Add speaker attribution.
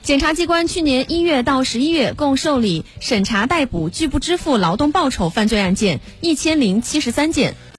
Speaker 1: 检察机关去年1月到11月共受理审查逮捕拒不支付劳动报酬犯罪案件1073件。